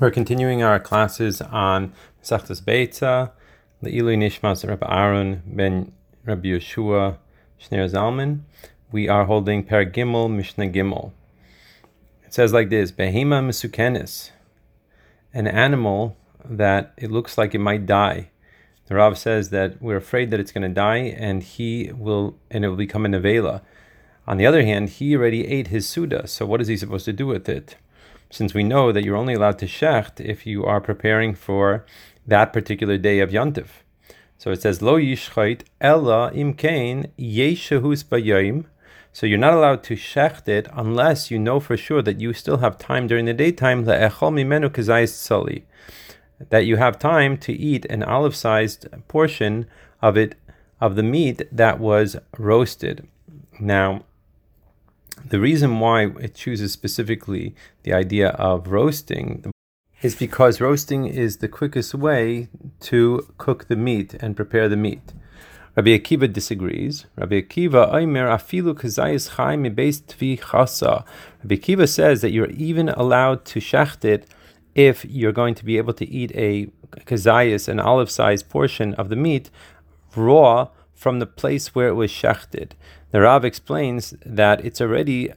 We're continuing our classes on Masechtas Beitza, Le'ilui Nishmas Rabbi Aaron ben Rabbi Yeshua Shneir Zalman. We are holding Perek Gimel, Mishnah Gimel. It says like this: Behema Mesukenis, an animal that it looks like it might die. The Rav says that we're afraid that it's going to die, and it will become a nevela. On the other hand, he already ate his suda, so what is he supposed to do with it? Since we know that you're only allowed to shecht if you are preparing for that particular day of Yontif. So it says, Lo yishchait ella imkein yeshehus bayayim. So you're not allowed to shecht it unless you know for sure that you still have time during the daytime, le'echol mimenu kazayis tzali, that you have time to eat an olive-sized portion of the meat that was roasted. Now, the reason why it chooses specifically the idea of roasting is because roasting is the quickest way to cook the meat and prepare the meat. Rabbi Akiva disagrees. Rabbi Akiva Omer afilu kazayis chai mibeis tvi chasa. Rabbi Akiva says that you're even allowed to shecht it if you're going to be able to eat a kazayis, an olive-sized portion of the meat, raw from the place where it was shechted. The Rav explains that it's already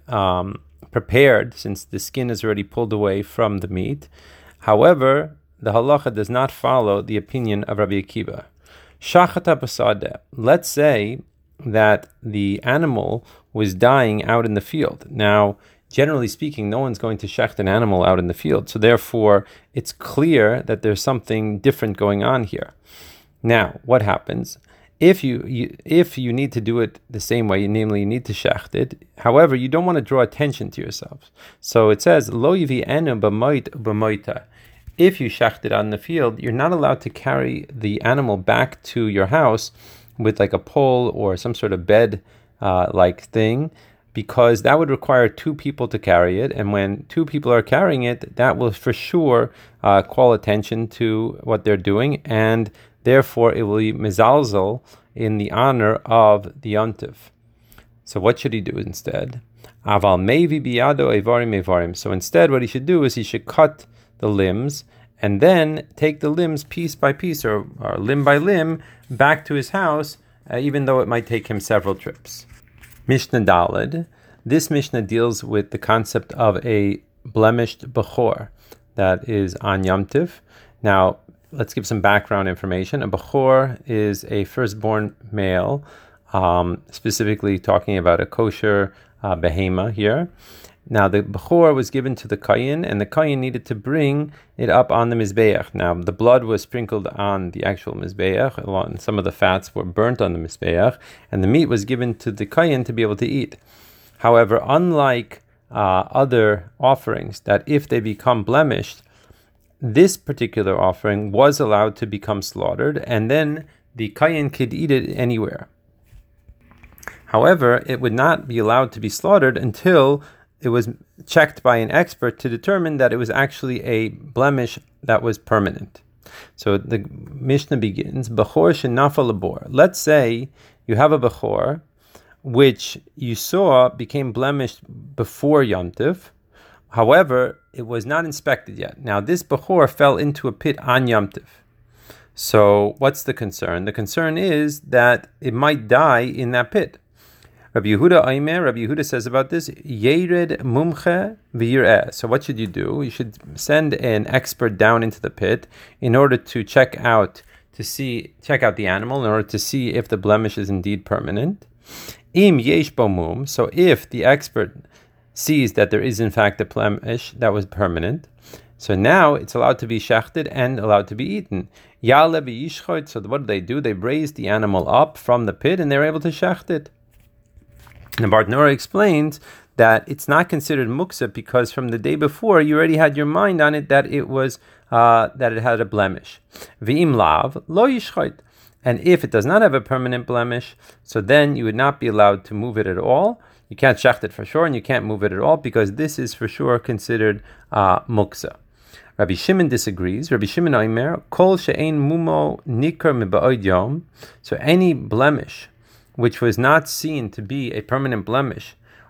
prepared since the skin is already pulled away from the meat. However, the halacha does not follow the opinion of Rabbi Akiva. Shachata basada. Let's say that the animal was dying out in the field. Now, generally speaking, no one's going to shecht an animal out in the field, so therefore it's clear that there's something different going on here. Now, what happens? If you need to do it the same way, namely you need to shecht it, however, you don't want to draw attention to yourself. So it says, Lo yivi enu b'moit u'b'moita. If you shecht it out in the field, you're not allowed to carry the animal back to your house with like a pole or some sort of bed like thing, because that would require two people to carry it, and when two people are carrying it, that will for sure call attention to what they're doing, and therefore it will be mezalzel in the honor of the yontif. So what should he do instead? Aval mevi biyado evarim evarim. So instead what he should do is he should cut the limbs and then take the limbs piece by piece or limb by limb back to his house, even though it might take him several trips. Mishnah Daled. This Mishnah deals with the concept of a blemished bechor that is on Yom Tiv. Now, let's give some background information. A bechor is a firstborn male, specifically talking about a kosher behema here. Now, the bechor was given to the kohen, and the kohen needed to bring it up on the mizbeach. Now, the blood was sprinkled on the actual mizbeach, and some of the fats were burnt on the mizbeach, and the meat was given to the kohen to be able to eat. However, unlike other offerings, that if they become blemished, this particular offering was allowed to become slaughtered, and then the kohen could eat it anywhere. However, it would not be allowed to be slaughtered until it was checked by an expert to determine that it was actually a blemish that was permanent. So the Mishnah begins, Bechor shenafa labor. Let's say you have a Bechor which you saw became blemished before Yom Tiv. However, it was not inspected yet. Now, this Bechor fell into a pit on Yom Tiv. So what's the concern? The concern is that it might die in that pit. Rabbi Yehuda says about this, Yered mumche v'yireh. So what should you do? You should send an expert down into the pit in order to check out the animal in order to see if the blemish is indeed permanent. Im yesh bo mum. So if the expert sees that there is in fact a blemish that was permanent, so now it's allowed to be shechted and allowed to be eaten. Yale v'yishchot. So what do? They raised the animal up from the pit and they're able to shecht it. And Bartnora explains that it's not considered muksa because from the day before you already had your mind on it that it was that it had a blemish. V'im lav lo yishchot. And if it does not have a permanent blemish, so then you would not be allowed to move it at all. You can't shecht it for sure, and you can't move it at all because this is for sure considered muksa. Rabbi Shimon disagrees. Rabbi Shimon Omer kol she'ein mumo nikar miba'od yom. So any blemish which was not seen to be a permanent blemish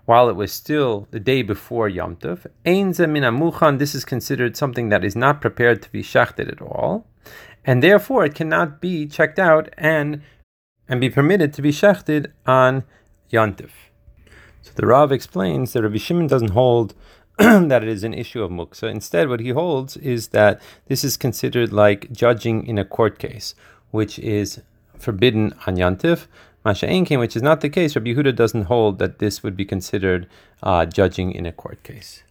while it was still the day before Yom Tov. Ein ze min hamuchan, this is considered something that is not prepared to be shachted at all, and therefore it cannot be checked out and be permitted to be shachted on Yom Tov. So the Rav explains that Rabbi Shimon doesn't hold that it is an issue of muksa. Instead, what he holds is that this is considered like judging in a court case, which is forbidden on Yom Tov. Masha'enkin, which is not the case. Rabbi Yehuda doesn't hold that this would be considered judging in a court case.